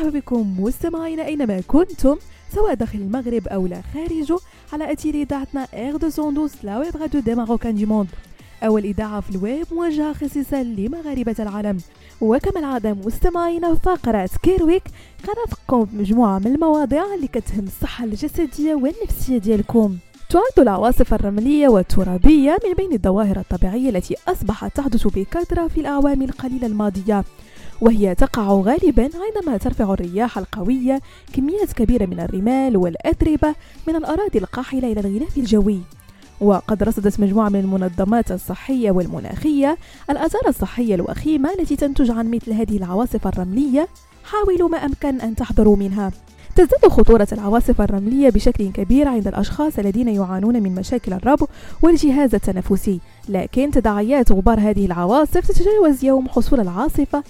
مرحبا بكم مستمعين أينما كنتم، سواء داخل المغرب أو لا خارجه، على أثير إذاعتنا R212 لا ويب راديو دي ماروكان دي موند، أول إذاعة في الويب موجهة خصيصا لمغاربة العالم. وكما العادة مستمعين، فقرة كيرويك غنرافقكم بمجموعة من المواضيع اللي كتهم الصحة الجسدية والنفسية ديالكم. تعد العواصف الرملية والترابية من بين الظواهر الطبيعية التي أصبحت تحدث بكثرة في الأعوام القليلة الماضية، وهي تقع غالبا عندما ترفع الرياح القوية كميات كبيرة من الرمال والأتربة من الأراضي القاحلة إلى الغلاف الجوي. وقد رصدت مجموعة من المنظمات الصحية والمناخية الآثار الصحية الوخيمة التي تنتج عن مثل هذه العواصف الرملية. حاولوا ما أمكن أن تحذروا منها. تزداد خطورة العواصف الرملية بشكل كبير عند الأشخاص الذين يعانون من مشاكل الربو والجهاز التنفسي، لكن تداعيات غبار هذه العواصف تتجاوز يوم حصول العاصفة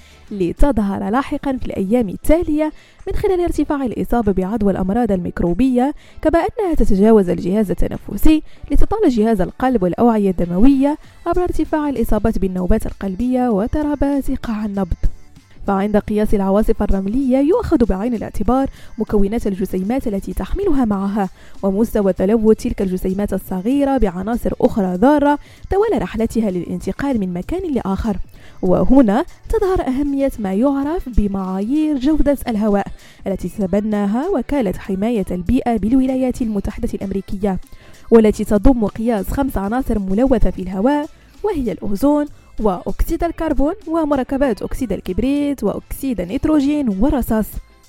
لتظهر لاحقا في الأيام التالية من خلال ارتفاع الإصابة بعدوى الأمراض الميكروبية، كما أنها تتجاوز الجهاز التنفسي لتطال جهاز القلب والأوعية الدموية عبر ارتفاع الإصابات بالنوبات القلبية واضطرابات قاع النبض. فعند قياس العواصف الرملية يؤخذ بعين الاعتبار مكونات الجسيمات التي تحملها معها، ومستوى تلوث تلك الجسيمات الصغيرة بعناصر أخرى ضارة طوال رحلتها للانتقال من مكان لآخر. وهنا تظهر أهمية ما يعرف بمعايير جودة الهواء التي تتبناها وكالة حماية البيئة بالولايات المتحدة الأمريكية، والتي تضم قياس 5 عناصر ملوثة في الهواء، وهي الأوزون وأكسيد الكربون ومركبات أكسيد الكبريت وأكسيد النيتروجين والرصاص.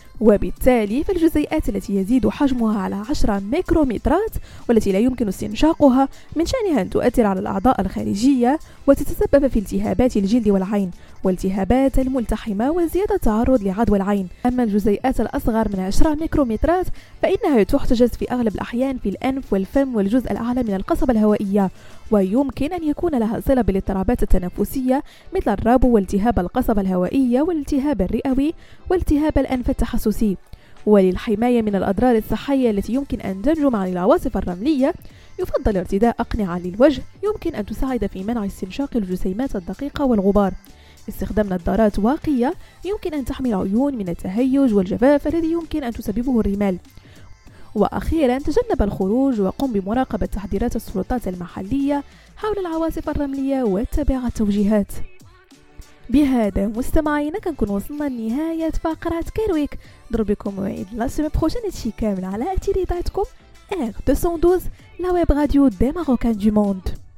وبالتالي فالجزيئات التي يزيد حجمها على 10 ميكرومترات والتي لا يمكن استنشاقها من شأنها أن تؤثر على الأعضاء الخارجية وتتسبب في التهابات الجلد والعين والتهابات الملتحمة وزيادة التعرض لعدوى العين. أما الجزيئات الأصغر من 10 ميكرومترات فإنها تحتجز في أغلب الأحيان في الأنف والفم والجزء الأعلى من القصبة الهوائية، ويمكن أن يكون لها صلة بالاضطرابات التنفسية مثل الربو والتهاب القصبة الهوائية والالتهاب الرئوي والتهاب الأنف التحسسي. وللحماية من الأضرار الصحية التي يمكن أن تنجم عن العواصف الرملية يفضل ارتداء أقنعة للوجه يمكن أن تساعد في منع استنشاق الجسيمات الدقيقة والغبار. استخدام نظارات واقية يمكن أن تحمي العيون من التهيج والجفاف الذي يمكن أن تسببه الرمال. وأخيرا تجنب الخروج وقم بمراقبة تحذيرات السلطات المحلية حول العواصف الرملية واتبع التوجيهات. بهذا مستمعينا كنكون وصلنا لنهاية فقرة كيرويك. نضرب بكم موعد لا سيمين بروشين هادشي كامل على أثير إذاعتكم R212 لا ويب راديو دي ماروكان دي موند.